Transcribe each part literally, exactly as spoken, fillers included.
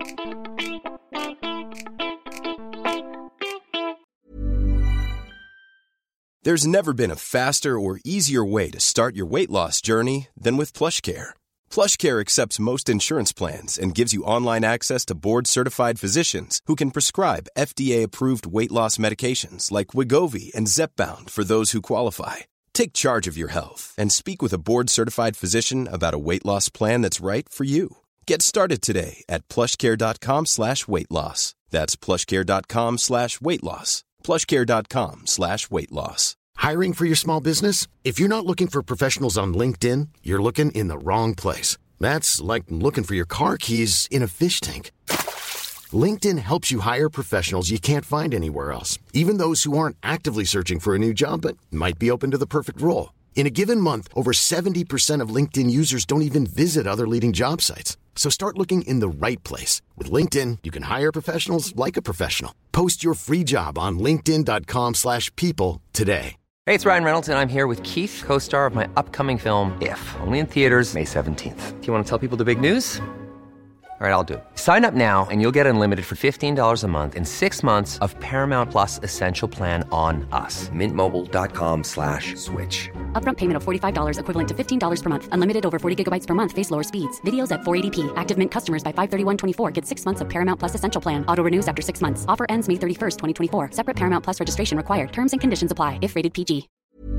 There's never been a faster or easier way to start your weight loss journey than with PlushCare. PlushCare accepts most insurance plans and gives you online access to board-certified physicians who can prescribe F D A-approved weight loss medications like Wegovy and Zepbound for those who qualify. Take charge of your health and speak with a board-certified physician about a weight loss plan that's right for you. Get started today at plushcare.com slash weight loss. That's plushcare.com slash weight loss. plushcare.com slash weight loss. Hiring for your small business? If you're not looking for professionals on LinkedIn, you're looking in the wrong place. That's like looking for your car keys in a fish tank. LinkedIn helps you hire professionals you can't find anywhere else, even those who aren't actively searching for a new job but might be open to the perfect role. In a given month, over seventy percent of LinkedIn users don't even visit other leading job sites. So start looking in the right place. With LinkedIn, you can hire professionals like a professional. Post your free job on linkedin.com slash people today. Hey, it's Ryan Reynolds, and I'm here with Keith, co-star of my upcoming film, If, only in theaters May seventeenth. Do you want to tell people the big news? All right, I'll do it. Sign up now and you'll get unlimited for fifteen dollars a month and six months of Paramount Plus Essential Plan on us. Mint Mobile dot com slash switch. Upfront payment of forty-five dollars equivalent to fifteen dollars per month. Unlimited over forty gigabytes per month. Face lower speeds. Videos at four eighty p. Active Mint customers by five thirty-one twenty-four get six months of Paramount Plus Essential Plan. Auto renews after six months. Offer ends May thirty-first, twenty twenty-four. Separate Paramount Plus registration required. Terms and conditions apply if rated P G.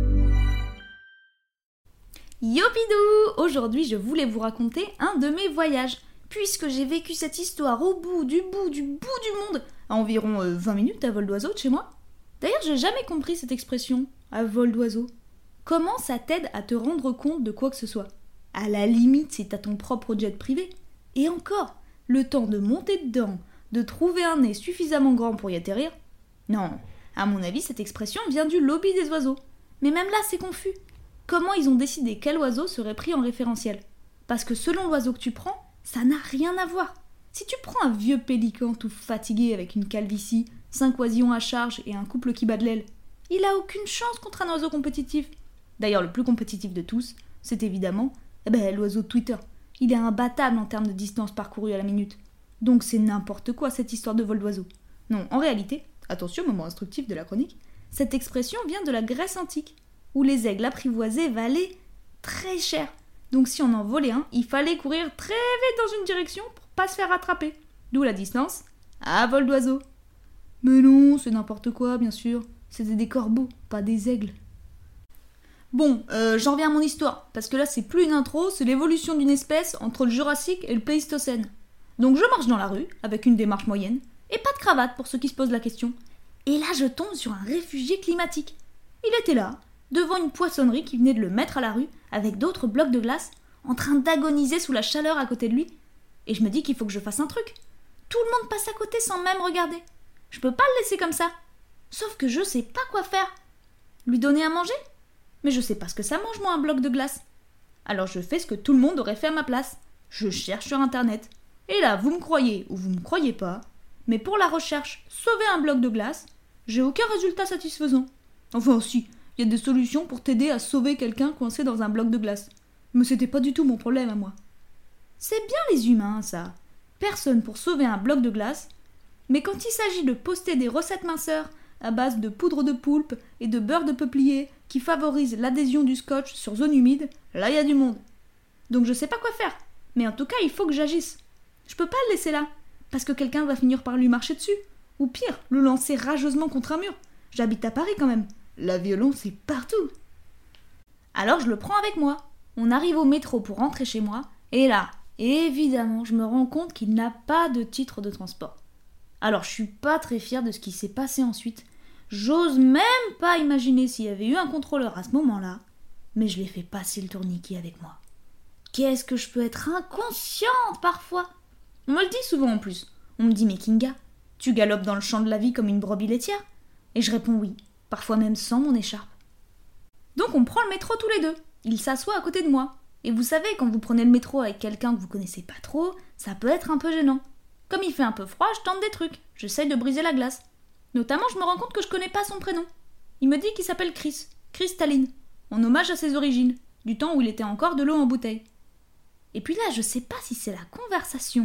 Yopidou! Aujourd'hui, je voulais vous raconter un de mes voyages, puisque j'ai vécu cette histoire au bout du bout du bout du monde, à environ euh, vingt minutes à vol d'oiseau de chez moi. D'ailleurs, j'ai jamais compris cette expression, à vol d'oiseau. Comment ça t'aide à te rendre compte de quoi que ce soit? À la limite, si t'as ton propre jet privé. Et encore, le temps de monter dedans, de trouver un nez suffisamment grand pour y atterrir. Non, à mon avis, cette expression vient du lobby des oiseaux. Mais même là, c'est confus. Comment ils ont décidé quel oiseau serait pris en référentiel? Parce que selon l'oiseau que tu prends, ça n'a rien à voir. Si tu prends un vieux pélican tout fatigué avec une calvitie, cinq oisillons à charge et un couple qui bat de l'aile, il a aucune chance contre un oiseau compétitif. D'ailleurs, le plus compétitif de tous, c'est évidemment eh ben, l'oiseau de Twitter. Il est imbattable en termes de distance parcourue à la minute. Donc c'est n'importe quoi cette histoire de vol d'oiseau. Non, en réalité, attention, moment instructif de la chronique, cette expression vient de la Grèce antique, où les aigles apprivoisés valaient très cher. Donc si on en volait un, il fallait courir très vite dans une direction pour pas se faire rattraper. D'où la distance à vol d'oiseau. Mais non, c'est n'importe quoi, bien sûr. C'était des corbeaux, pas des aigles. Bon, euh, j'en reviens à mon histoire, parce que là c'est plus une intro, c'est l'évolution d'une espèce entre le Jurassique et le Pléistocène. Donc je marche dans la rue, avec une démarche moyenne, et pas de cravate pour ceux qui se posent la question. Et là je tombe sur un réfugié climatique. Il était là, devant une poissonnerie qui venait de le mettre à la rue, avec d'autres blocs de glace, en train d'agoniser sous la chaleur à côté de lui. Et je me dis qu'il faut que je fasse un truc. Tout le monde passe à côté sans même regarder. Je peux pas le laisser comme ça. Sauf que je sais pas quoi faire. Lui donner à manger? Mais je sais pas ce que ça mange, moi, un bloc de glace. Alors je fais ce que tout le monde aurait fait à ma place. Je cherche sur internet. Et là, vous me croyez ou vous me croyez pas, mais pour la recherche sauver un bloc de glace, j'ai aucun résultat satisfaisant. Enfin si, il y a des solutions pour t'aider à sauver quelqu'un coincé dans un bloc de glace. Mais c'était pas du tout mon problème à moi. C'est bien les humains, ça. Personne pour sauver un bloc de glace. Mais quand il s'agit de poster des recettes minceurs à base de poudre de poulpe et de beurre de peuplier qui favorisent l'adhésion du scotch sur zone humide, là il y a du monde. Donc je sais pas quoi faire. Mais en tout cas, il faut que j'agisse. Je peux pas le laisser là, parce que quelqu'un va finir par lui marcher dessus. Ou pire, le lancer rageusement contre un mur. J'habite à Paris quand même. La violence est partout. Alors je le prends avec moi. On arrive au métro pour rentrer chez moi, et là, évidemment, je me rends compte qu'il n'a pas de titre de transport. Alors je suis pas très fière de ce qui s'est passé ensuite. J'ose même pas imaginer s'il y avait eu un contrôleur à ce moment-là, mais je l'ai fait passer le tourniquet avec moi. Qu'est-ce que je peux être inconsciente parfois? On me le dit souvent en plus. On me dit « Mais Kinga, tu galopes dans le champ de la vie comme une brebis laitière ?» Et je réponds oui, parfois même sans mon écharpe. Donc on prend le métro tous les deux. Il s'assoit à côté de moi. Et vous savez, quand vous prenez le métro avec quelqu'un que vous connaissez pas trop, ça peut être un peu gênant. Comme il fait un peu froid, je tente des trucs. J'essaye de briser la glace. Notamment, je me rends compte que je connais pas son prénom. Il me dit qu'il s'appelle Chris, Chris Tallinn, en hommage à ses origines, du temps où il était encore de l'eau en bouteille. Et puis là, je sais pas si c'est la conversation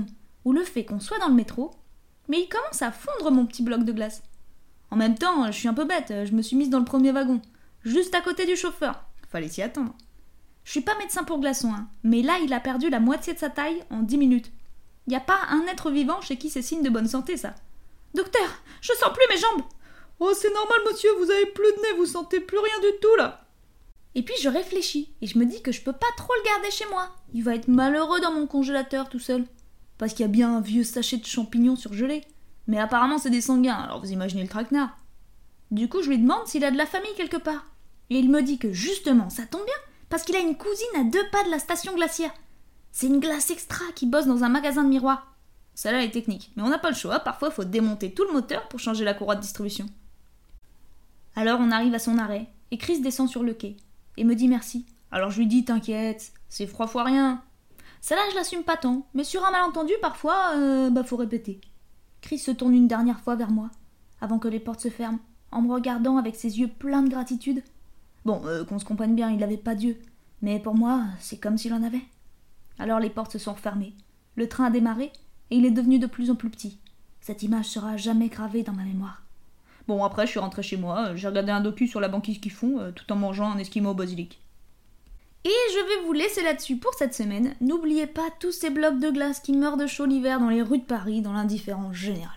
ou le fait qu'on soit dans le métro, mais il commence à fondre mon petit bloc de glace. En même temps, je suis un peu bête, je me suis mise dans le premier wagon, juste à côté du chauffeur. Fallait s'y attendre. Je suis pas médecin pour glaçons, hein, mais là il a perdu la moitié de sa taille en dix minutes. Y a pas un être vivant chez qui c'est signe de bonne santé, ça. Docteur, je sens plus mes jambes. Oh, c'est normal, monsieur, vous avez plus de nez, vous sentez plus rien du tout, là. Et puis je réfléchis, et je me dis que je peux pas trop le garder chez moi. Il va être malheureux dans mon congélateur tout seul. Parce qu'il y a bien un vieux sachet de champignons surgelés. Mais apparemment c'est des sanguins, alors vous imaginez le traquenard. Du coup je lui demande s'il a de la famille quelque part. Et il me dit que justement, ça tombe bien, parce qu'il a une cousine à deux pas de la station glaciaire. C'est une glace extra qui bosse dans un magasin de miroirs. Celle-là est technique, mais on n'a pas le choix, parfois il faut démonter tout le moteur pour changer la courroie de distribution. Alors on arrive à son arrêt, et Chris descend sur le quai, et me dit merci. Alors je lui dis t'inquiète, c'est froid fois rien. Celle-là je l'assume pas tant, mais sur un malentendu parfois, euh, bah faut répéter. Chris se tourne une dernière fois vers moi, avant que les portes se ferment, en me regardant avec ses yeux pleins de gratitude. Bon, euh, qu'on se comprenne bien, il n'avait pas Dieu, mais pour moi, c'est comme s'il en avait. Alors les portes se sont refermées, le train a démarré, et il est devenu de plus en plus petit. Cette image sera jamais gravée dans ma mémoire. Bon, après, je suis rentrée chez moi, j'ai regardé un docu sur la banquise qu'ils font, euh, tout en mangeant un esquimau au basilic. Et je vais vous laisser là-dessus pour cette semaine. N'oubliez pas tous ces blocs de glace qui meurent de chaud l'hiver dans les rues de Paris, dans l'indifférence générale.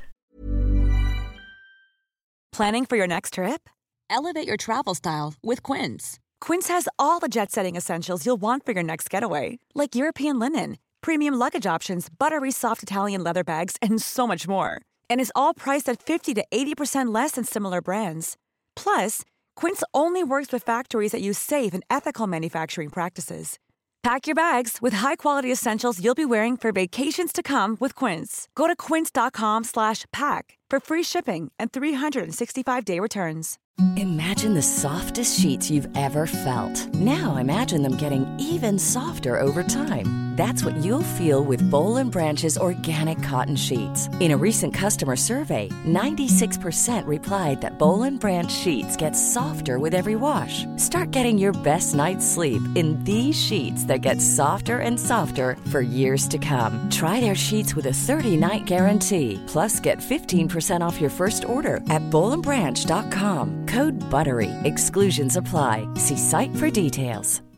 Planning for your next trip? Elevate your travel style with Quince. Quince has all the jet-setting essentials you'll want for your next getaway, like European linen, premium luggage options, buttery soft Italian leather bags, and so much more. And is all priced at fifty to eighty percent less than similar brands. Plus, Quince only works with factories that use safe and ethical manufacturing practices. Pack your bags with high-quality essentials you'll be wearing for vacations to come with Quince. Go to quince.com slash pack for free shipping and three sixty-five day returns. Imagine the softest sheets you've ever felt. Now imagine them getting even softer over time. That's what you'll feel with Boll and Branch's organic cotton sheets. In a recent customer survey, ninety-six percent replied that Boll and Branch sheets get softer with every wash. Start getting your best night's sleep in these sheets that get softer and softer for years to come. Try their sheets with a thirty-night guarantee. Plus, get fifteen percent off your first order at boll and branch dot com. Code BUTTERY. Exclusions apply. See site for details.